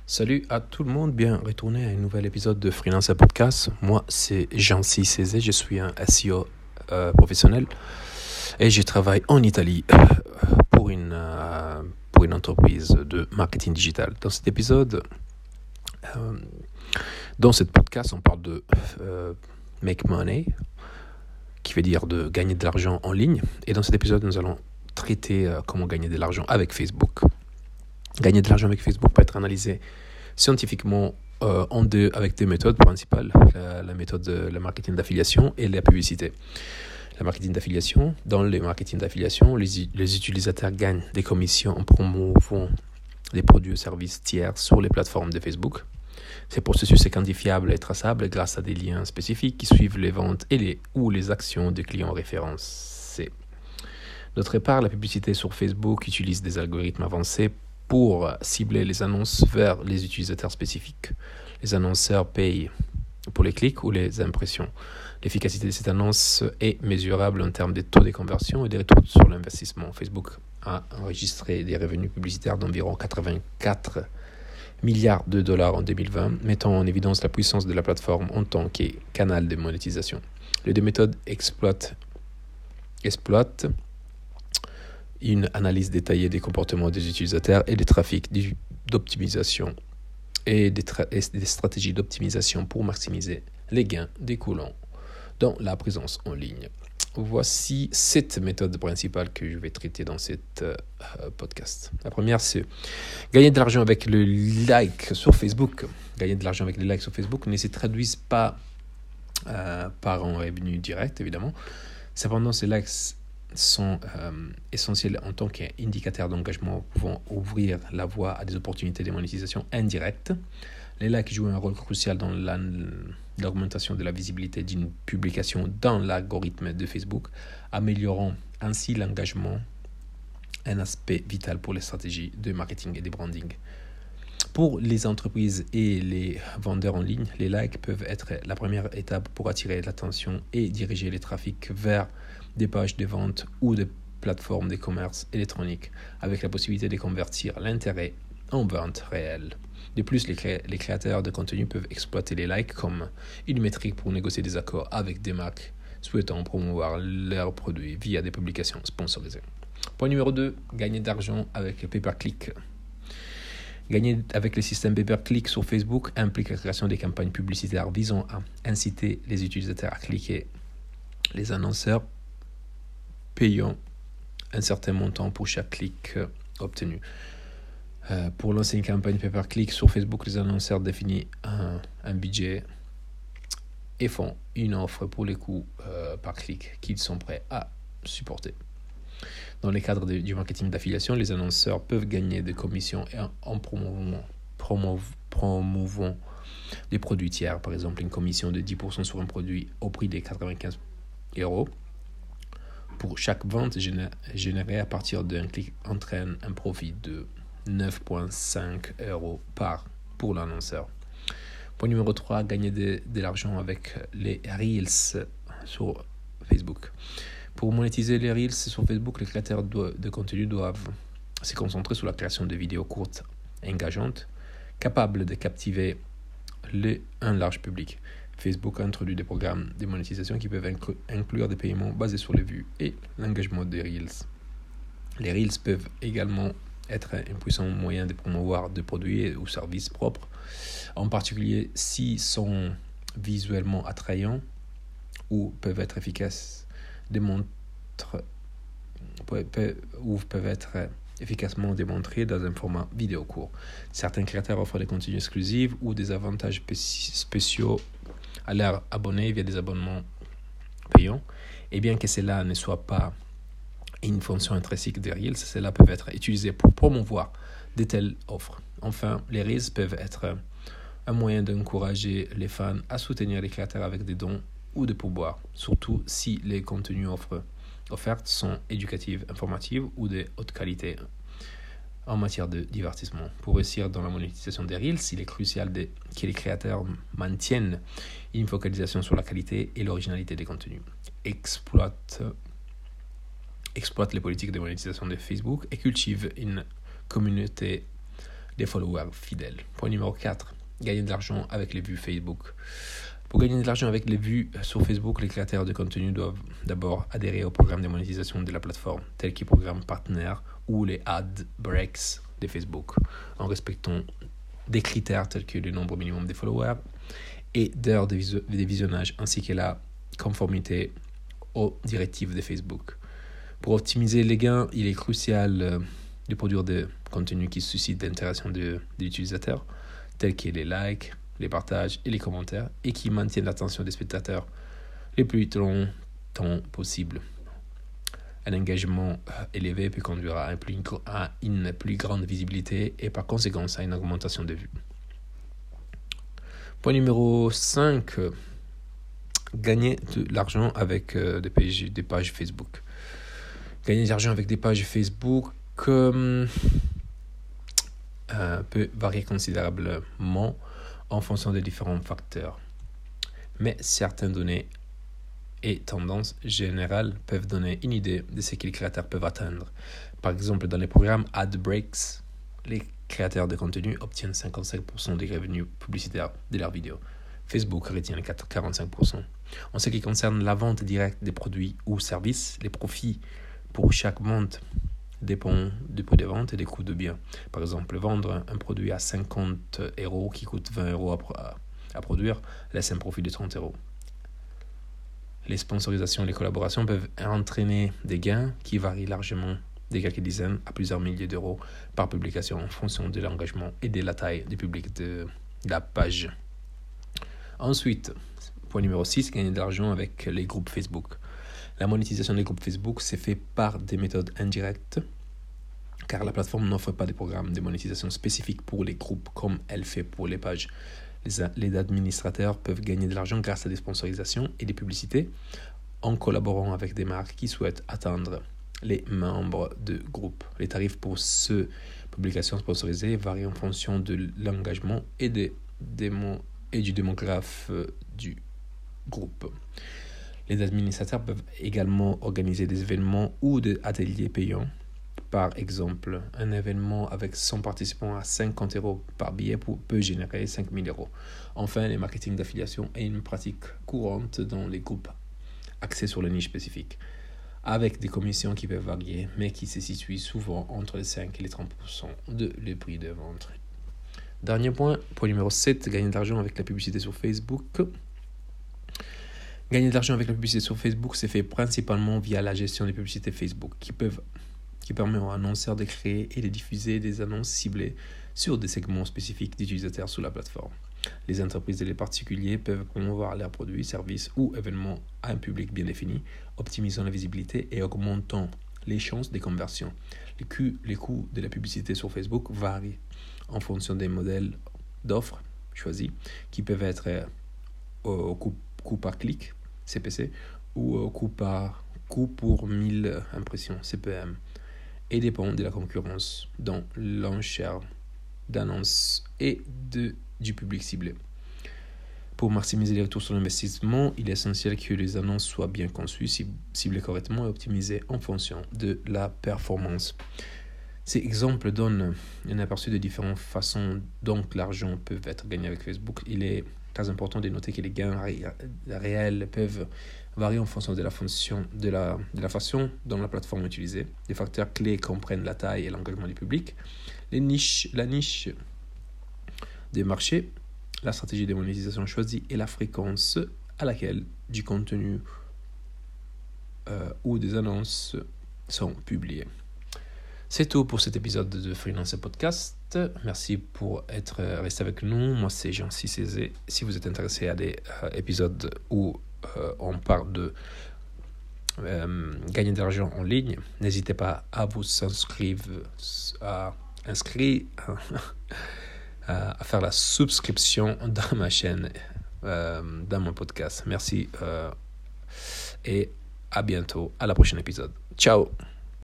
Salut à tout le monde, bien retourné à un nouvel épisode de Freelancer Podcast. Moi, c'est Jean-C Cézé, je suis un SEO professionnel et je travaille en Italie pour une entreprise de marketing digital. Dans cet épisode, dans cette podcast, on parle de make money, qui veut dire de gagner de l'argent en ligne. Et dans cet épisode, nous allons traiter comment gagner de l'argent avec Facebook. Gagner de l'argent avec Facebook peut être analysé scientifiquement avec deux méthodes principales, la méthode de la marketing d'affiliation et la publicité. La marketing d'affiliation, dans le marketing d'affiliation, les utilisateurs gagnent des commissions en promouvant des produits ou services tiers sur les plateformes de Facebook. Ces processus sont quantifiables et traçables grâce à des liens spécifiques qui suivent les ventes ou les actions des clients référencés. D'autre part, la publicité sur Facebook utilise des algorithmes avancés pour cibler les annonces vers les utilisateurs spécifiques. Les annonceurs payent pour les clics ou les impressions. L'efficacité de cette annonce est mesurable en termes de taux de conversion et des retours sur l'investissement. Facebook a enregistré des revenus publicitaires d'environ 84 milliards de dollars en 2020, mettant en évidence la puissance de la plateforme en tant que canal de monétisation. Les deux méthodes exploitent une analyse détaillée des comportements des utilisateurs et des trafics d'optimisation et des stratégies d'optimisation pour maximiser les gains découlant dans la présence en ligne. Voici 7 méthodes principales que je vais traiter dans cet podcast. La première, c'est gagner de l'argent avec le like sur Facebook. Gagner de l'argent avec les likes sur Facebook ne se traduisent pas par un revenu direct, évidemment. Cependant, ces likes sont essentiels en tant qu'indicateurs d'engagement pouvant ouvrir la voie à des opportunités de monétisation indirectes. Les likes jouent un rôle crucial dans l'augmentation de la visibilité d'une publication dans l'algorithme de Facebook, améliorant ainsi l'engagement, un aspect vital pour les stratégies de marketing et de branding. Pour les entreprises et les vendeurs en ligne, les likes peuvent être la première étape pour attirer l'attention et diriger les trafics vers des pages de vente ou des plateformes de commerce électronique, avec la possibilité de convertir l'intérêt en vente réelle. De plus, les créateurs de contenu peuvent exploiter les likes comme une métrique pour négocier des accords avec des marques souhaitant promouvoir leurs produits via des publications sponsorisées. Point numéro 2, gagner d'argent avec le pay-per-click. Gagner avec le système pay-per-click sur Facebook implique la création des campagnes publicitaires visant à inciter les utilisateurs à cliquer. Les annonceurs payant un certain montant pour chaque clic obtenu. Pour lancer une campagne pay-per-click sur Facebook, les annonceurs définissent un budget et font une offre pour les coûts par clic qu'ils sont prêts à supporter. Dans le cadre du marketing d'affiliation, les annonceurs peuvent gagner des commissions en promouvant des produits tiers, par exemple une commission de 10% sur un produit au prix de 95 € pour chaque vente générée à partir d'un clic entraîne un profit de 9,5 € pour l'annonceur. Point numéro 3, gagner de l'argent avec les Reels sur Facebook. Pour monétiser les Reels sur Facebook, les créateurs de contenu doivent se concentrer sur la création de vidéos courtes et engageantes, capables de captiver un large public. Facebook a introduit des programmes de monétisation qui peuvent inclure des paiements basés sur les vues et l'engagement des Reels. Les Reels peuvent également être un puissant moyen de promouvoir des produits ou services propres, en particulier s'ils sont visuellement attrayants ou peuvent être efficacement démontrés dans un format vidéo court. Certains créateurs offrent des contenus exclusifs ou des avantages spéciaux à leurs abonnés via des abonnements payants. Et bien que cela ne soit pas une fonction intrinsèque des Reels, cela peut être utilisé pour promouvoir de telles offres. Enfin, les Reels peuvent être un moyen d'encourager les fans à soutenir les créateurs avec des dons ou des pourboires, surtout si les contenus offertes sont éducatifs, informatifs ou de haute qualité en matière de divertissement. Pour réussir dans la monétisation des Reels, il est crucial que les créateurs maintiennent une focalisation sur la qualité et l'originalité des contenus, exploitent les politiques de monétisation de Facebook et cultivent une communauté des followers fidèles. Point numéro 4, gagner de l'argent avec les vues Facebook. Pour gagner de l'argent avec les vues sur Facebook, les créateurs de contenu doivent d'abord adhérer au programme de monétisation de la plateforme, tel que les programmes partenaires ou les ad breaks de Facebook, en respectant des critères tels que le nombre minimum de followers et d'heures de visionnage, ainsi que la conformité aux directives de Facebook. Pour optimiser les gains, il est crucial de produire des contenus qui suscitent l'interaction de l'utilisateur, tels que les likes, les partages et les commentaires, et qui maintiennent l'attention des spectateurs le plus longtemps possible. Un engagement élevé peut conduire à une plus grande visibilité et par conséquent à une augmentation de vues. Point numéro 5, gagner de l'argent avec des pages Facebook. Gagner de l'argent avec des pages Facebook peut varier considérablement en fonction des différents facteurs. Mais certaines données et tendances générales peuvent donner une idée de ce que les créateurs peuvent atteindre. Par exemple, dans les programmes Ad Breaks, les créateurs de contenu obtiennent 55% des revenus publicitaires de leurs vidéos. Facebook retient les 45%. En ce qui concerne la vente directe des produits ou services, les profits pour chaque vente dépendent du prix de vente et des coûts de biens. Par exemple, vendre un produit à 50 € qui coûte 20 € à produire laisse un profit de 30 €. Les sponsorisations et les collaborations peuvent entraîner des gains qui varient largement de quelques dizaines à plusieurs milliers d'euros par publication en fonction de l'engagement et de la taille du public de la page. Ensuite, point numéro 6, gagner de l'argent avec les groupes Facebook. La monétisation des groupes Facebook s'est faite par des méthodes indirectes, car la plateforme n'offre pas de programme de monétisation spécifique pour les groupes comme elle fait pour les pages. Les administrateurs peuvent gagner de l'argent grâce à des sponsorisations et des publicités en collaborant avec des marques qui souhaitent atteindre les membres de groupe. Les tarifs pour ces publications sponsorisées varient en fonction de l'engagement et du démographe du groupe. Les administrateurs peuvent également organiser des événements ou des ateliers payants. Par exemple, un événement avec 100 participants à 50 € par billet peut générer 5 000 €. Enfin, le marketing d'affiliation est une pratique courante dans les groupes axés sur les niches spécifiques, avec des commissions qui peuvent varier, mais qui se situent souvent entre les 5 et les 30% de le prix de vente. Dernier point numéro 7, gagner de l'argent avec la publicité sur Facebook. Gagner de l'argent avec la publicité sur Facebook s'est fait principalement via la gestion des publicités Facebook qui permet aux annonceurs de créer et de diffuser des annonces ciblées sur des segments spécifiques d'utilisateurs sur la plateforme. Les entreprises et les particuliers peuvent promouvoir leurs produits, services ou événements à un public bien défini, optimisant la visibilité et augmentant les chances de conversion. Les coûts de la publicité sur Facebook varient en fonction des modèles d'offres choisis, qui peuvent être au coût par clic, CPC, ou au coût pour 1000 impressions, CPM, et dépend de la concurrence dans l'enchère d'annonces et du public ciblé. Pour maximiser les retours sur l'investissement, il est essentiel que les annonces soient bien conçues, ciblées correctement et optimisées en fonction de la performance. Ces exemples donnent un aperçu de différentes façons dont l'argent peut être gagné avec Facebook. Il est très important de noter que les gains réels peuvent varier en fonction de la façon dont la plateforme est utilisée. Les facteurs clés comprennent la taille et l'engagement du public, la niche des marchés, la stratégie de monétisation choisie et la fréquence à laquelle du contenu ou des annonces sont publiées. C'est tout pour cet épisode de Freelance Podcast. Merci pour être resté avec nous. Moi, c'est Jean-Cy Cézé. Si vous êtes intéressé à des épisodes où on parle de gagner de l'argent en ligne, n'hésitez pas à vous inscrire, à faire la subscription dans ma chaîne, dans mon podcast. Merci et à bientôt, à la prochaine épisode. Ciao!